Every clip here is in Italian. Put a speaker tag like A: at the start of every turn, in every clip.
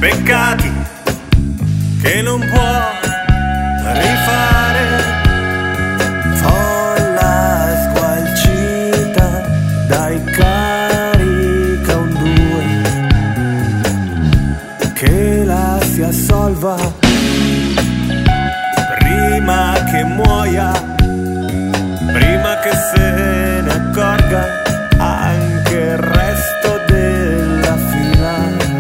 A: peccati che non può rifare.
B: Folla sgualcita dai carica un due, che la si assolva prima che muoia, prima che se ne accorga anche il resto della fila.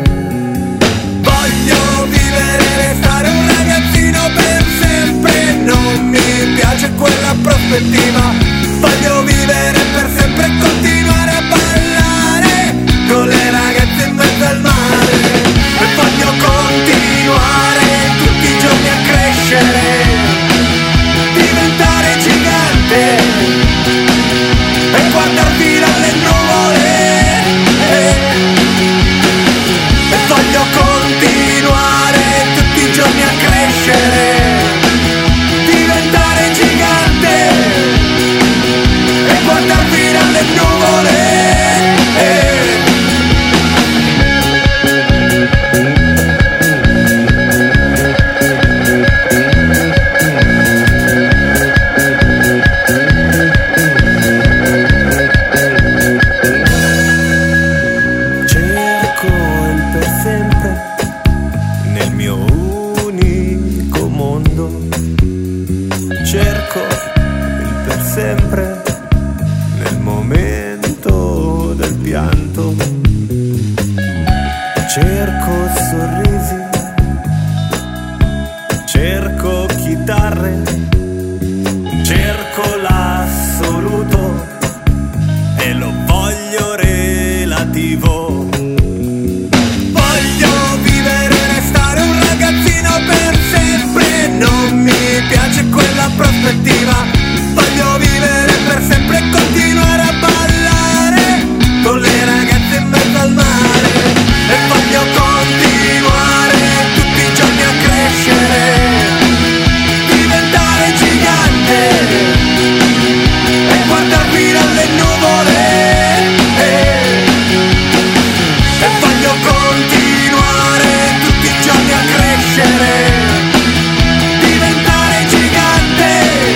A: Voglio vivere e restare un ragazzino per sempre, non mi piace quella prospettiva. Voglio vivere per sempre e continuare a ballare con le ragazze in mezzo al mare. E voglio continuare tutti i giorni a crescere, diventare gigante e guardar via le nuvole. E voglio continuare tutti i giorni a crescere, diventare gigante e guardar via le nuvole.
B: Cerco il per sempre nel momento del pianto. Cerco sorrisi, cerco chitarre, cerco l'assoluto e lo voglio relativo.
A: Voglio vivere e restare un ragazzino per sempre, non mi piace quella prospettiva. Voglio vivere per sempre e continuare a ballare con le ragazze in mezzo al mare. E voglio continuare tutti i giorni a crescere, diventare gigante e guardar via le nuvole. E voglio continuare tutti i giorni a crescere, diventare gigante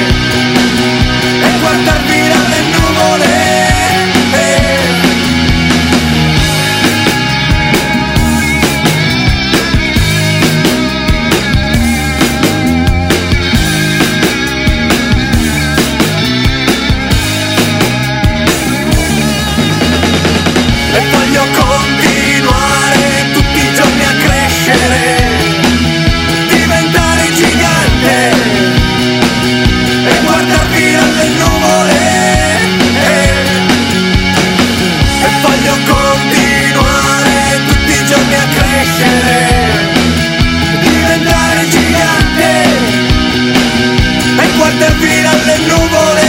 A: e guardar via le nuvole. E voglio continuare tutti i giorni a crescere, diventare gigante e guardar via le nuvole. E voglio continuare tutti i giorni a crescere, diventare gigante e guardar via le nuvole.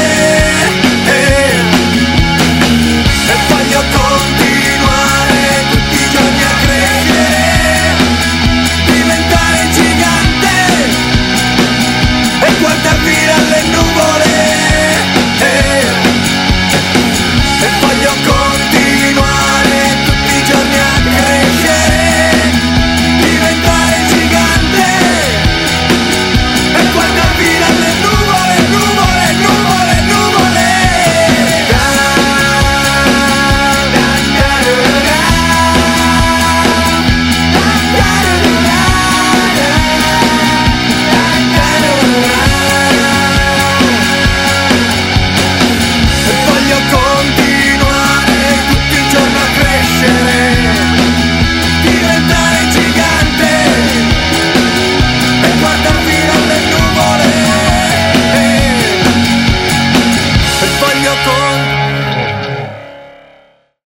A: E voglio continuare tutti i giorni a crescere, diventare gigante e guardar via le nuvole. E voglio continuare tutti i giorni a crescere, diventare gigante e guardar via le nuvole, nuvole, nuvole, nuvole. E voglio continuare tutti i giorni a crescere, diventare gigante e guardar via le nuvole. E voglio